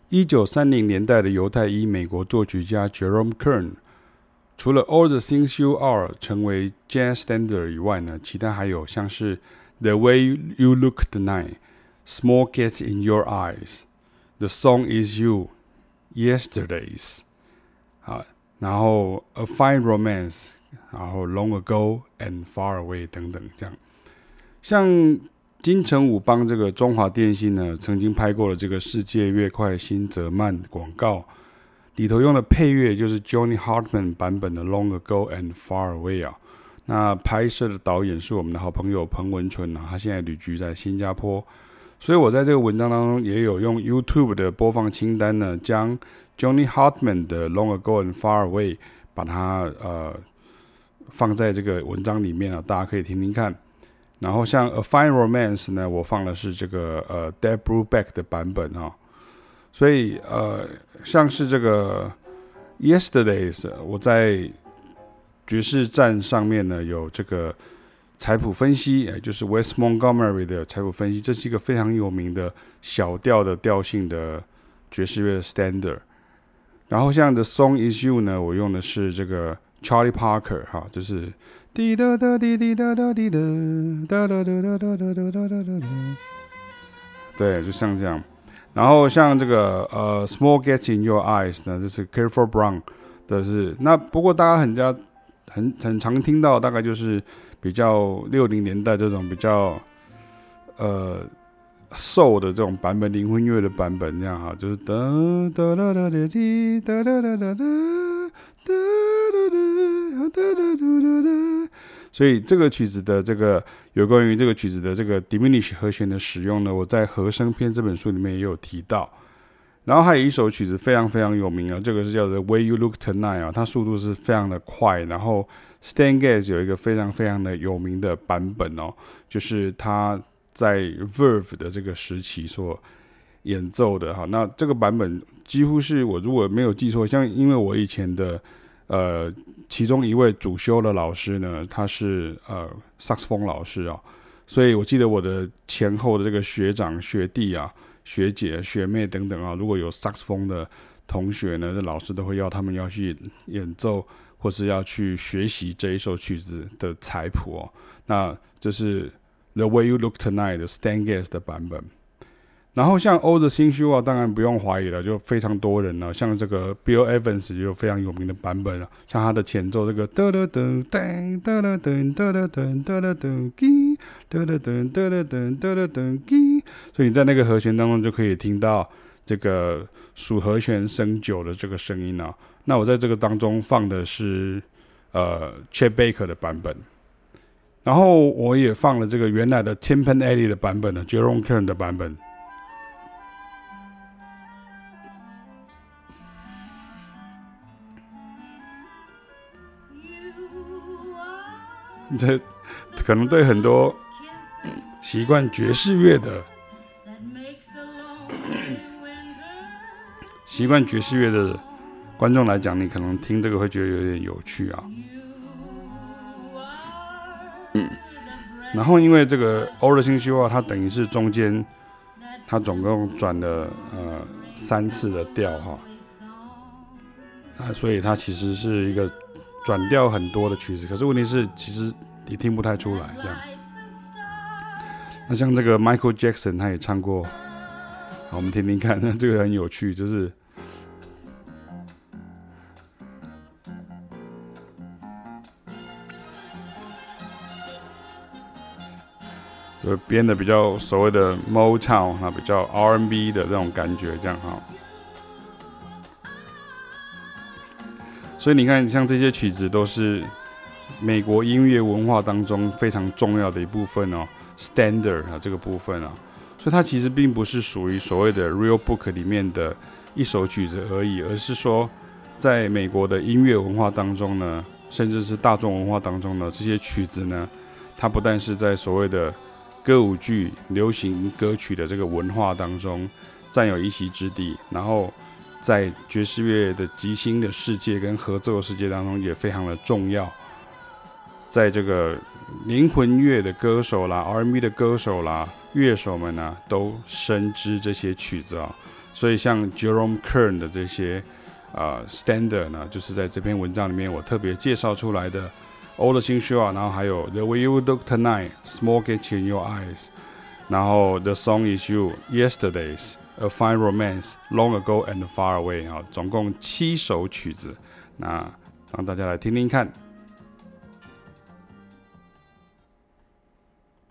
1930年代的猶太裔美國作曲家 Jerome Kern， 除了 All the Things You Are 成為 Jazz Standard 以外呢，其他還有像是 The Way You Look Tonight、Small Gets in Your Eyes、The Song Is You、Yesterdays， 然後 A Fine Romance， 然後 Long Ago and Far Away 等等這樣。像金城武幫這個中華電信呢，曾經拍過了這個世界越快心則慢廣告，裡頭用的配樂就是 Johnny Hartman 版本的 Long Ago and Far Away 啊。那拍攝的導演是我們的好朋友彭文淳啊，他現在旅居在新加坡，所以我在這個文章當中也有用 YouTube 的播放清單呢，將 Johnny Hartman 的 Long Ago and Far Away 把它放在這個文章裡面啊，大家可以聽聽看。然後像 A Fine Romance 呢，我放的是這個Dave Brubeck 的版本哈，所以像是這個 Yesterdays， 我在爵士站上面呢有這個採譜分析，就是 Wes Montgomery 的採譜分析，這是一個非常有名的小調的調性的爵士樂 standard。然後像 The Song Is You 呢，我用的是這個 Charlie Parker 哈，就是滴答答滴滴答答滴答答答答答答答答答，对，就像這樣。然後像這個Small Gets in Your Eyes 呢，這是 Clifford Brown 的是。那不過大家很常聽到，大概就是比較60年代這種比較soul 的這種版本，靈魂樂的版本這樣哈，就是噠噠噠噠噠滴噠噠噠噠噠。所以這個曲子的這個有關於這個曲子的這個 diminish 和弦的使用呢，我在和聲篇這本書裡面也有提到。然後還有一首曲子非常非常有名啊，這個是叫做 The Way You Look Tonight 啊，它速度是非常的快。然後 Stan Getz 有一個非常非常的有名的版本哦，就是他在 Verve 的這個時期所演奏的哈。那這個版本幾乎是我如果沒有記錯，像因為我以前的其中一位主修的老師呢，他是薩克斯風老師啊，所以我記得我的前後的這個學長學弟啊、學姐學妹等等啊，如果有薩克斯風的同學呢，這老師都會要他們要去演奏或是要去學習這一首曲子的採譜哦。那這是 The Way You Look Tonight 的 Stan Getz 的版本。然後像 All the Things You Are 當然不用懷疑了，就非常多人了。像這個 Bill Evans 也有非常有名的版本了，像他的前奏這個噠噠噔噔噠噠噔噠噠噔噠噠噔嘰噠噠噔噠噠噔噠噠噔嘰，所以你在那個和弦當中就可以聽到這個屬和弦升9的這個聲音啊。那我在這個當中放的是Chet Baker 的版本，然後我也放了這個原來的 Tin Pan Alley 的版本的 Jerome Kern 的版本。這可能對很多習慣爵士樂的觀眾來講，你可能聽這個會覺得有點有趣啊。然後因為這個 All the Things You Are 它等於是中間它總共轉了3次的調哈，所以它其實是一個轉調很多的曲子，可是問題是其實你聽不太出來這樣。那像這個 Michael Jackson 他也唱過，好，我們聽聽看，那這個很有趣，就是就編的比較所謂的 Motown 比較 R&B 的這種感覺這樣哈。所以你看，像這些曲子都是美國音樂文化當中非常重要的一部分哦 ，standard 啊這個部分啊，所以它其實並不是屬於所謂的 real book 裡面的一首曲子而已，而是說在美國的音樂文化當中呢，甚至是大眾文化當中呢，這些曲子呢，它不但是在所謂的歌舞劇、流行歌曲的這個文化當中佔有一席之地，然後在爵士樂的即興的世界跟合奏的世界當中也非常的重要。在這個靈魂樂的歌手啦、R&B 的歌手啦、樂手們啊，都深知這些曲子啊。 所以像 Jerome Kern 的這些standard 呢，就是在這篇文章裡面我特別介紹出來的 All the Things You Are， 然後還有 The Way You Look Tonight、Small Getting in Your Eyes， 然後 The Song Is You、Yesterdays、A Fine Romance、Long Ago and Far Away， 总共7首曲子，那讓大家來聽聽看。